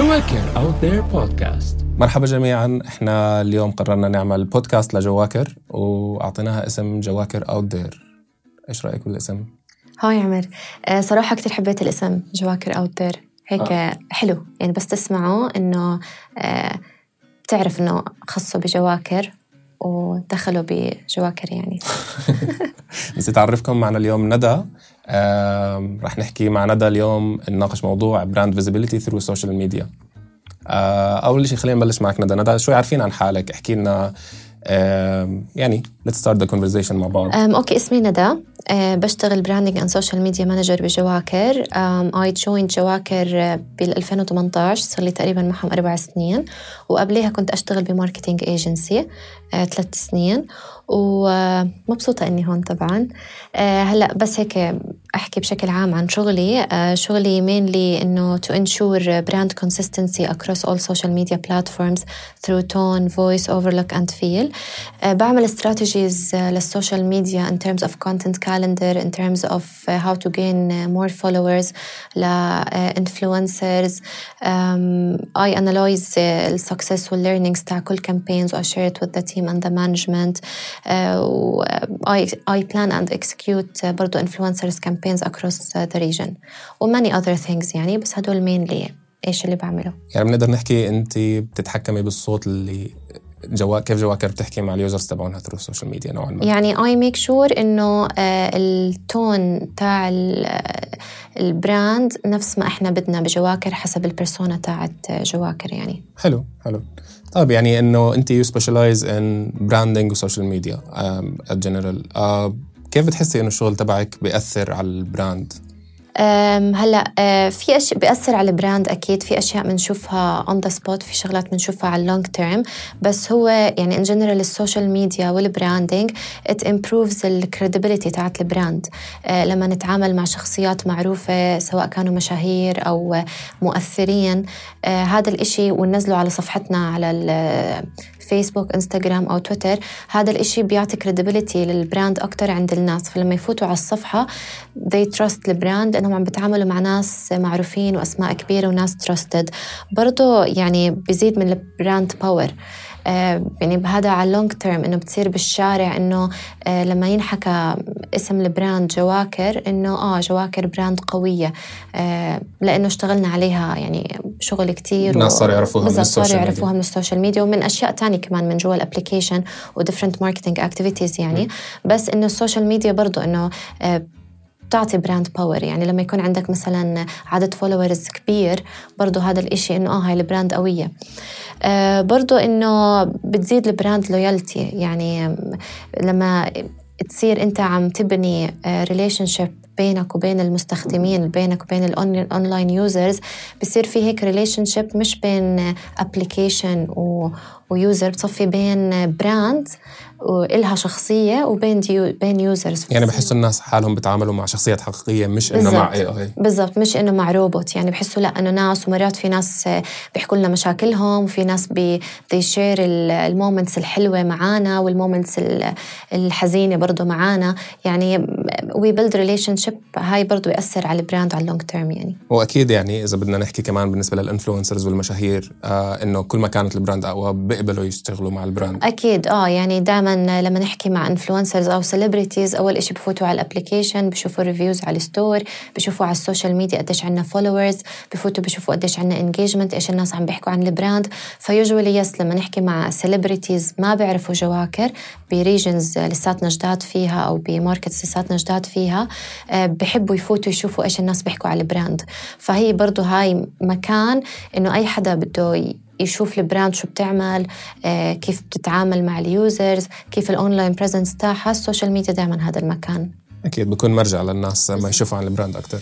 جواكر Out There Podcast. مرحبا جميعا، احنا اليوم قررنا نعمل بودكاست لجواكر واعطيناها اسم جواكر Out There. ايش رأيك بالاسم؟ هاي عمر، صراحة كتير حبيت الاسم جواكر Out There. هيك حلو يعني، بس تسمعوا انه بتعرف انه خصوا بجواكر ودخلوا بجواكر يعني. نسيت أعرفكم معنا اليوم ندى. رح نحكي مع ندى اليوم، نناقش موضوع براند فيزيبيليتي ثرو سوشيال ميديا. أول شيء خلينا نبلش معك ندى شوي عارفين عن حالك، احكي لنا يعني let's start the conversation مع بعض. أوكي، اسمي ندى، بشتغل براندنج and social media manager بجواكر. I joined جواكر بال2018، صار لي تقريبا معهم 4 سنين، وقبلها كنت أشتغل بماركتينج ايجنسي 3 سنين، ومبسوطة إني هون طبعاً. هلأ بس هيك أحكي بشكل عام عن شغلي. شغلي mainly إنه to ensure brand consistency across all social media platforms through tone, voice, overlook and feel. بعمل strategies للسوشيال ميديا in terms of content calendar, in terms of how to gain more followers influencers. I analyze the successful learnings تاع كل campaigns و I share it with the team and the management. I plan and execute برضو influencers campaigns across the region و many other things يعني، بس هدول mainly إيش اللي بعمله. يعني بنقدر نحكي أنت بتتحكمي بالصوت اللي كيف جواكر بتحكي مع اليوزرز تبعونها ثرو السوشيال ميديا نوعا ما. يعني I make sure إنه التون تاع البراند نفس ما إحنا بدنا بجواكر حسب البرسونا تاعت جواكر يعني. حلو. طيب يعني إنه أنت you specialize in branding و social media at general. كيف بتحسي إنه الشغل تبعك بيأثر على البراند؟ هلأ في أشياء بيأثر على البراند، أكيد في أشياء بنشوفها on the spot، في شغلات بنشوفها على long term، بس هو يعني in general السوشيال ميديا والبراندينج it improves the credibility تاعت البراند. لما نتعامل مع شخصيات معروفة سواء كانوا مشاهير أو مؤثرين، هذا الإشي وننزله على صفحتنا على فيسبوك، إنستغرام أو تويتر، هذا الإشي بيعطي credibility للبراند أكتر عند الناس. فلما يفوتوا على الصفحة they trust البراند إنهم عم بتعاملوا مع ناس معروفين وأسماء كبيرة وناس trusted. برضو يعني بيزيد من البراند باور. يعني بهذا على لونج تيرم إنه بتصير بالشارع إنه لما ينحكى اسم البراند جواكر إنه جواكر براند قوية، لأنه اشتغلنا عليها يعني شغل كتير، الناس صار يعرفوها من السوشيال ميديا ومن أشياء تانية كمان من جوا الابليكيشن و different marketing activities يعني. بس إنه السوشيال ميديا برضو إنه تعطي براند باور. يعني لما يكون عندك مثلا عدد فولورز كبير، برضو هذا الاشي انه هاي البراند قوية. برضو انه بتزيد البراند لويالتي. يعني لما تصير انت عم تبني ريليشنشيب بينك وبين المستخدمين، بينك وبين الأونلاين يوزرز، بصير في هيك ريليشنشيب مش بين أبليكيشن ويوزر، بتصفي بين براند وإلها شخصية وبين يوزرز. يعني بحسوا الناس حالهم بيتعاملوا مع شخصيات حقيقية، مش إنه مع AI. بالضبط، مش إنه مع روبوت. يعني بحسوا لا إنه ناس، ومرات في ناس بيحكوا لنا مشاكلهم، وفي ناس بيشير المومنتس الحلوة معانا والمومنتس الحزينة برضو معانا. يعني we build relationship. هاي برضو يأثر على البراند على اللونج تيرم يعني. وأكيد يعني إذا بدنا نحكي كمان بالنسبة للإنفلونسرز والمشاهير، إنه كل ما كانت البراند أقوى بيقبلوا يشتغلوا مع البراند. أكيد يعني دائما لما نحكي مع انفلونسرز أو سيلبريتيز، أول إشي بفوتوا على الابليكيشن، بشوفوا ريفيوز على الستور، بشوفوا على السوشيال ميديا قديش عنا فولورز، بفوتوا بشوفوا قديش عنا انجيجمنت، إيش الناس عم بيحكوا عن البراند. فيوجوالي يس لما نحكي مع سيلبريتيز ما بيعرفوا جواكر بريجنز لساتنا جداد فيها أو بماركتس لساتنا جداد فيها، بحبوا يفوتوا يشوفوا إيش الناس بيحكوا على البراند. فهي برضو هاي مكان إنه أي حدا بده يشوف البراند شو بتعمل، كيف بتتعامل مع اليوزرز، كيف الأونلاين بريزنس تاعها. السوشيال ميديا دائما هذا المكان أكيد بيكون مرجع للناس ما يشوفوا عن البراند أكتر.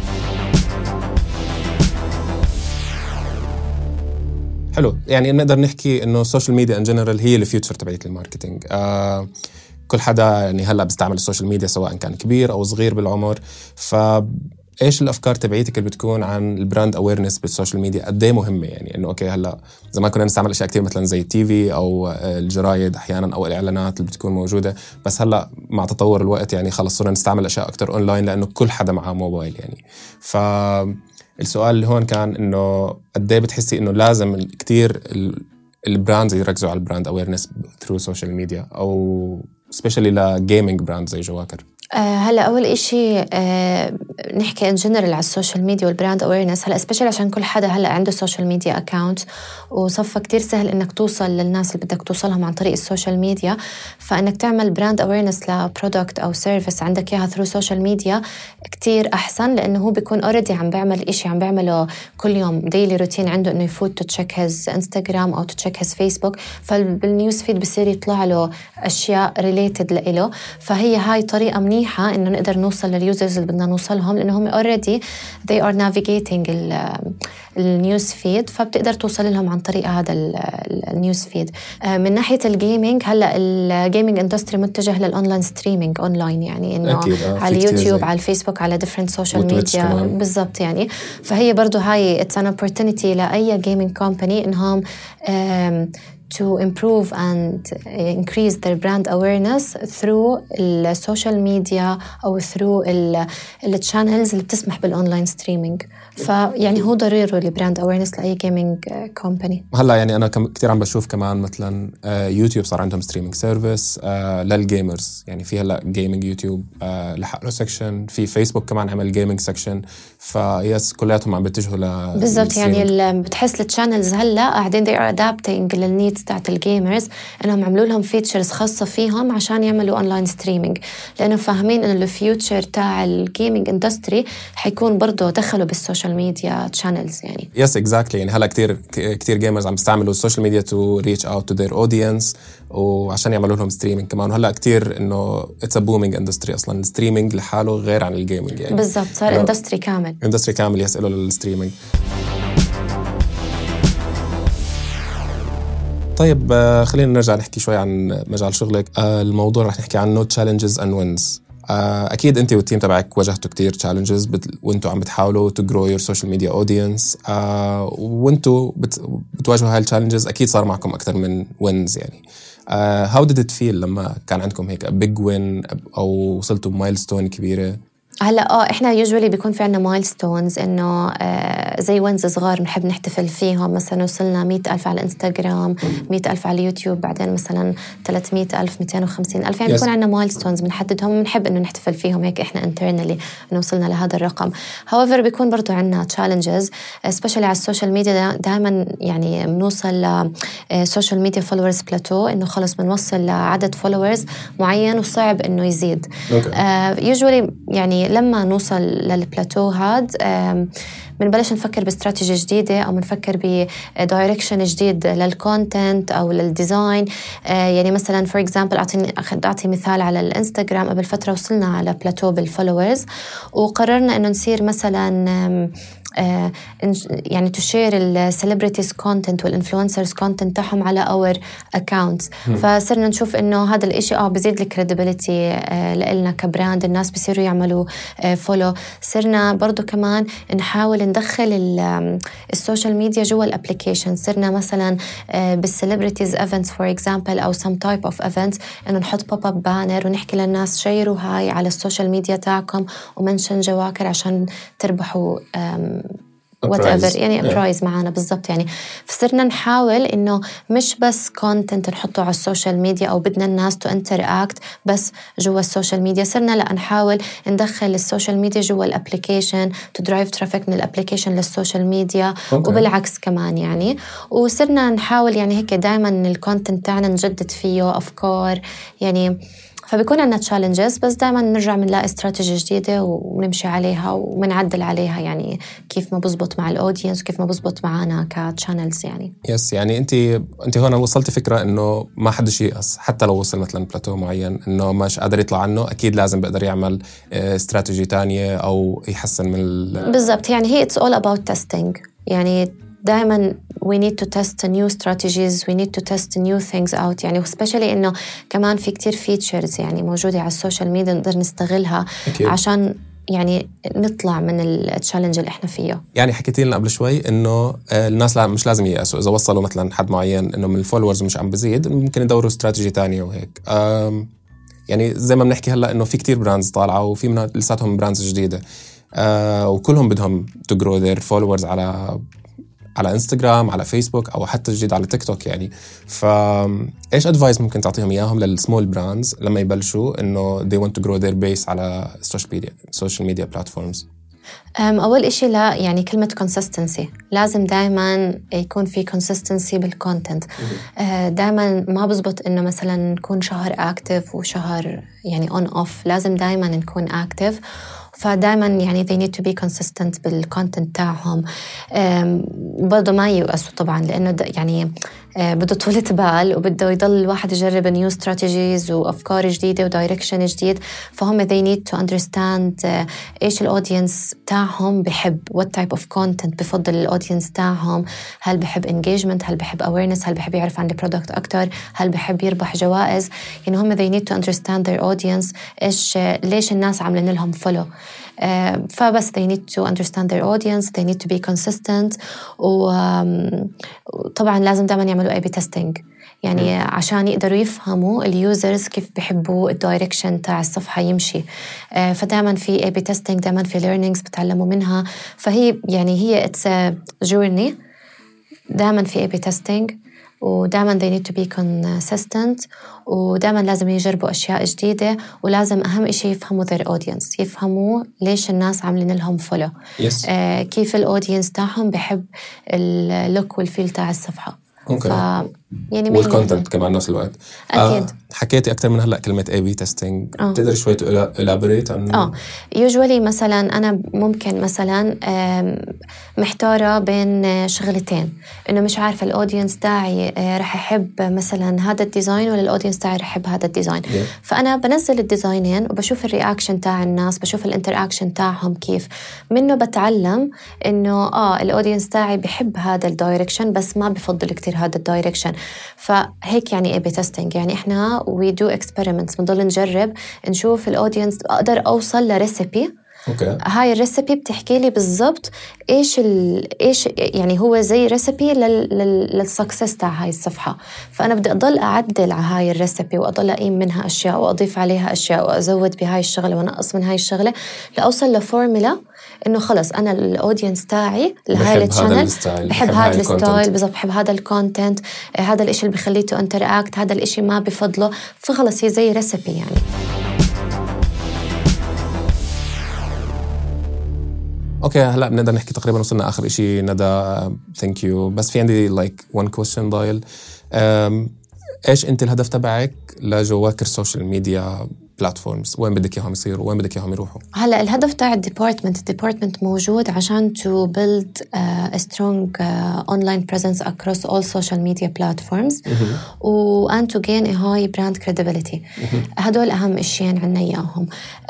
حلو. يعني نقدر نحكي إنه السوشيال ميديا إن جنرال هي الفيوتشر تبعت الماركتينج. كل حدا يعني هلأ بيستعمل السوشيال ميديا سواء كان كبير أو صغير بالعمر. إيش الأفكار تبعيتك اللي بتكون عن البراند أويرنس بالسوشيال ميديا؟ قديه مهمة يعني إنه أوكي هلأ زمان كنا نستعمل أشياء كتير مثلا زي التي في أو الجرايد أحيانا أو الإعلانات اللي بتكون موجودة، بس هلأ مع تطور الوقت يعني خلص صرنا نستعمل أشياء أكتر أونلاين لأنه كل حدا معه موبايل يعني. السؤال اللي هون كان إنه قد إيه بتحسي إنه لازم كتير البراندز يركزوا على البراند أويرنس through social media أو especially لجيمينج براند زي جواكر؟ هلا أول إشي نحكي إن جنرال على السوشيال ميديا والبراند أويرنس. هلا سبيشال عشان كل حدا هلا عنده سوشيال ميديا أكاونت وصفى كتير سهل إنك توصل للناس اللي بدك توصلهم عن طريق السوشيال ميديا. فإنك تعمل براند أويرنس لبرودكت أو سيرفيس عندك إياها ثرو سوشيال ميديا كتير أحسن، لأنه هو بيكون أوريدي عم بيعمل إشي عم بيعمله كل يوم ديلي روتين عنده، إنه يفوت تتشيك هز إنستغرام أو تتشيك هز فيسبوك، فبالنيوز فيد بصير يطلع له أشياء ريليتد لإله. فهي هاي طريقة منيحة إنه نقدر نوصل لليوزرز اللي بدنا نوصلهم، لأنه هم already they are navigating النيوز فيد، فبتقدر توصل لهم عن طريق هذا النيوز فيد. من ناحية الجيمينج، هلأ الجيمينج اندستري متجه للأونلاين ستريمينج أونلاين، يعني إنه على اليوتيوب على الفيسبوك على different social media بالضبط يعني. فهي برضو هاي it's an opportunity لأي gaming company إنهم to improve and increase their brand awareness through السوشيال ميديا أو through الchannels اللي بتسمح بالأونلاين ستريمينج. فيعني هو ضروري البراند awareness لأي gaming company. هلا يعني أنا كتير عم بشوف كمان مثلا يوتيوب صار عندهم ستريمينج سيرفيس للجيمرز، يعني في هلا جيمينج يوتيوب لحق له سكشن، في فيسبوك كمان عمل جيمينج سكشن، فيس كلياتهم عم بتجهوا بالضبط. يعني بتحس الchannels هلا قاعدين they are adapting للنيدز تاعت الجيمرز، انهم عملوا لهم فيتشرز خاصه فيهم عشان يعملوا اونلاين ستريمينج، لانه فاهمين انه الفيوتشر تاع الجيمينج اندستري حيكون برضه دخلوا بالسوشيال ميديا تشانلز يعني. يس اكزاكتلي. يعني هلا كتير جيمرز عم يستعملوا السوشيال ميديا تو ريتش اوت تو ذير اودينس وعشان يعملوا لهم ستريمينج كمان. وهلا كتير انه اتس ا بومينج اندستري اصلا، الستريمينج لحاله غير عن الجيمينج يعني. بالضبط، صار اندستري كامل يسألوا للستريمينج. طيب خلينا نرجع نحكي شوي عن مجال شغلك. الموضوع رح نحكي عنه challenges and wins. أكيد أنت والتيم تبعك واجهتوا كتير challenges وأنتوا عم بتحاولوا to grow your social media audience، وأنتوا بتواجهوا هاي challenges. أكيد صار معكم أكثر من wins يعني. how did it feel لما كان عندكم هيك big win أو وصلتوا milestone كبيرة؟ هلا احنا usually بيكون في عنا مايلستونز، انه زي وينز صغار بنحب نحتفل فيهم. مثلا وصلنا 100,000 على الانستغرام، 100,000 على اليوتيوب، بعدين مثلا 300,000 250,000، يعني بيكون عنا مايلستونز بنحددهم وبنحب انه نحتفل فيهم هيك احنا internally انه وصلنا لهذا الرقم. however بيكون برضو عنا challenges especially على السوشيال ميديا. دائما يعني بنوصل لسوشيال ميديا فولورز بلاتو، انه خلص بنوصل لعدد فولورز معين وصعب انه يزيد. usually يعني لما نوصل للبلاتو هاد بنبلش نفكر باستراتيجية جديدة أو بنفكر بدايركشن جديد للكونتنت أو للديزاين. يعني مثلا for example أعطي مثال على الانستغرام. قبل فترة وصلنا على بلاتو بالفولورز وقررنا إنه نصير مثلا يعني تشير السيلبريتيز كونتنت والانفلونسرز كونتنت تاعهم على اور اكاونتس. فصرنا نشوف انه هذا الاشي بزيد الكريديبيليتي لنا كبراند، الناس بيصيروا يعملوا فولو. صرنا برضو كمان نحاول ندخل السوشيال ميديا جوا الابليكيشن. صرنا مثلا بالسيلبريتيز ايفنتس فور اكزامبل او سم تايب اوف ايفنتس انه نحط بوب اب بانر ونحكي للناس شيروا هاي على السوشيال ميديا تاعكم ومنشن جواكر عشان تربحوا whatever يعني برايز معنا بالضبط يعني. فصرنا نحاول إنه مش بس كونتنت نحطه على السوشيال ميديا أو بدنا الناس تو انتراكت بس جوا السوشيال ميديا. صرنا لا نحاول ندخل السوشيال ميديا جوا الابليكيشن تو درايف ترافيك من الابليكيشن للسوشيال ميديا وبالعكس كمان يعني. وصرنا نحاول يعني هيك دائما الكونتنت تاعنا نجدد فيه أفكار يعني. فبيكون عندنا challenges بس دائما نرجع بنلاقي استراتيجية جديدة ونمشي عليها ومنعدل عليها يعني كيف ما بزبط مع الأودينس وكيف ما بزبط معنا كتشانلز يعني. يس يعني انت هون وصلت فكرة انه ما حدش يقص حتى لو وصل مثلا بلاتو معين انه مش قادر يطلع عنه، اكيد لازم بقدر يعمل استراتيجي تانية او يحسن من بالضبط يعني. هي it's all about testing يعني. دائما we need to test new strategies, we need to test new things out يعني. especially إنه كمان في كتير features يعني موجودة على السوشيال ميديا نقدر نستغلها أكيد. عشان يعني نطلع من التشالنج اللي احنا فيه. يعني حكيتي لنا قبل شوي إنه الناس مش لازم ييأسوا إذا وصلوا مثلا حد معين إنه من الفولورز مش عم بزيد، ممكن يدوروا استراتيجي تانية وهيك. يعني زي ما بنحكي هلا إنه في كتير براندز طالعة وفي منها لساتهم براندز جديدة. وكلهم بدهم to grow their followers على انستغرام، على فيسبوك، او حتى جديد على تيك توك يعني. فايش ادفايس ممكن تعطيهم اياهم للسمول براندز لما يبلشوا انه they want to grow their base على social media platforms؟ أول إشي لا يعني كلمة consistency، لازم دايما يكون في consistency بالcontent. دايما ما بزبط إنه مثلا نكون شهر active وشهر يعني on off، لازم دايما نكون active. فدايما يعني they need to be consistent بالcontent تاعهم. برضو ما ييأسوا طبعا، لأنه يعني بده طولة بال وبده يضل الواحد يجرب new strategies وأفكار جديدة ودايركشن جديد. فهم they need to understand إيش الأودينس تاعهم بحب، what type of content بفضل الأودينس تاعهم. هل بحب engagement، هل بحب awareness، هل بحب يعرف عن البرودكت أكتر، هل بحب يربح جوائز. يعني هم they need to understand their audience، ليش الناس عاملين لهم follow. فبس they need to understand their audience, they need to be consistent. وطبعا لازم دائما يعملوا A/B testing يعني عشان يقدروا يفهموا اليوزرز كيف بيحبوا الدايركشن تاع الصفحة يمشي. فدائما في A/B testing، دائما في learnings بتعلموا منها. فهي يعني هي it's a journey، دائما في A/B testing، ودائما they need to be consistent، ودائما لازم يجربوا أشياء جديدة. ولازم أهم إشي يفهموا their audience، يفهموا ليش الناس عاملين لهم follow. كيف الأودينس تاعهم بحب اللوك والفيل تاع الصفحة. يعني والكونتنت كمان نفس الوقت. أكيد. حكيتي أكتر من هلأ كلمة A/B testing، تقدر شوي elaborate عن؟ usually مثلا أنا ممكن مثلا محتارة بين شغلتين، إنه مش عارفة الأودينس تاعي رح يحب مثلا هذا الديزاين ولا الأودينس تاعي رح يحب هذا الديزاين. فأنا بنزل الديزاينين وبشوف الرياكشن تاع الناس، بشوف الانتراكشن تاعهم كيف، منه بتعلم إنه الأودينس تاعي بحب هذا الدايركشن بس ما بفضل كتير هذا الدايركشن. فهيك يعني A/B testing، يعني إحنا we do experiments، بنضل نجرب نشوف الأودينس، أقدر أوصل لريسيبي. هاي الريسيبي بتحكي لي بالضبط إيش يعني هو زي ريسيبي للسكسس تاع هاي الصفحة. فأنا بدي أضل أعدل على هاي الريسيبي وأضل أقيم منها أشياء وأضيف عليها أشياء وأزود بهاي الشغلة ونقص من هاي الشغلة لأوصل لفورمولا إنه خلص أنا الأودينس تاعي لهاي الشانل بحب هذا الستايل بالضبط، بحب هذا الكونتنت، هذا الإشي اللي بخليه تو انتراكت، هذا الإشي ما بفضله. فخلص هي زي ريسيبي يعني. اوكي هلا بنقدر نحكي تقريبا وصلنا اخر إشي ندى. ثانك يو. بس في عندي one question ضايل. ايش انت الهدف تبعك لجواكر سوشيال ميديا بلاتفورمز؟ وين بدك اياهم يصيروا؟ وين بدك اياهم يروحوا؟ هلا الهدف تاع الديبارتمنت موجود عشان to build a strong online presence across all social media platforms and to gain a high brand credibility. هدول أهم إشيين عنا إياهم.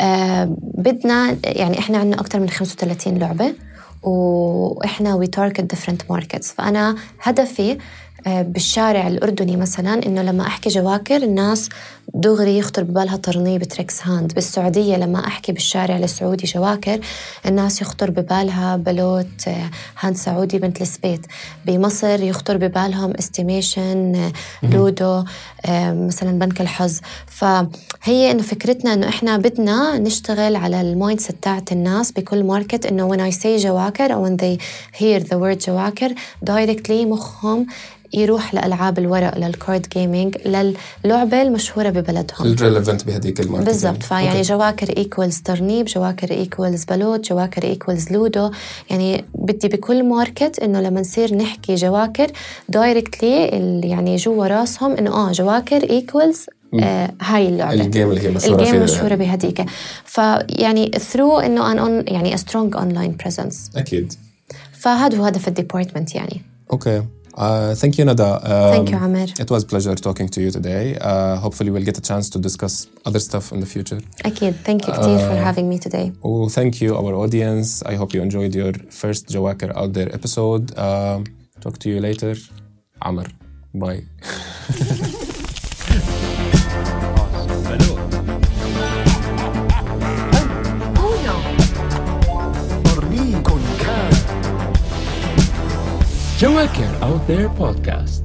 بدنا يعني إحنا عنا أكتر من 35 لعبة وإحنا we target different markets. فأنا هدفي بالشارع الأردني مثلا إنه لما أحكي جواكر الناس دغري يخطر ببالها ترنيب تريكس هاند. بالسعودية لما أحكي بالشارع السعودي جواكر الناس يخطر ببالها بلوت هاند سعودي بنت السبيت. بمصر يخطر ببالهم استيميشن لودو مثلا بنك الحظ. فهي إنه فكرتنا إنه إحنا بدنا نشتغل على المايندسيت تاعت الناس بكل ماركت إنه when I say جواكر أو when they hear the word جواكر directly مخهم يروح لألعاب الورق للكارد جيمينج للعبة المشهورة ببلدهم الريليفنت بهديك الماركت بالضبط. فيعني جواكر إيكوالز ترنيب، جواكر إيكوالز بلوت، جواكر إيكوالز لودو. يعني بدي بكل ماركت إنه لما نصير نحكي جواكر دايركتلي يعني جوا راسهم إنه جواكر إيكوالز هاي اللعبة الجيم اللي هي مشهورة الجيم مشهورة بهديك. فيعني through إنه يعني a strong online presence. أكيد. فهذا هو هدف الديبارتمنت يعني. Okay. Thank you, Nada. Thank you, Amer. It was a pleasure talking to you today. Hopefully we'll get a chance to discuss other stuff in the future. أكيد. Thank you كتير for having me today. Oh, thank you, our audience. I hope you enjoyed your first Jawaker Out There episode. Talk to you later. Amer. Bye. Jawaker Out There Podcast.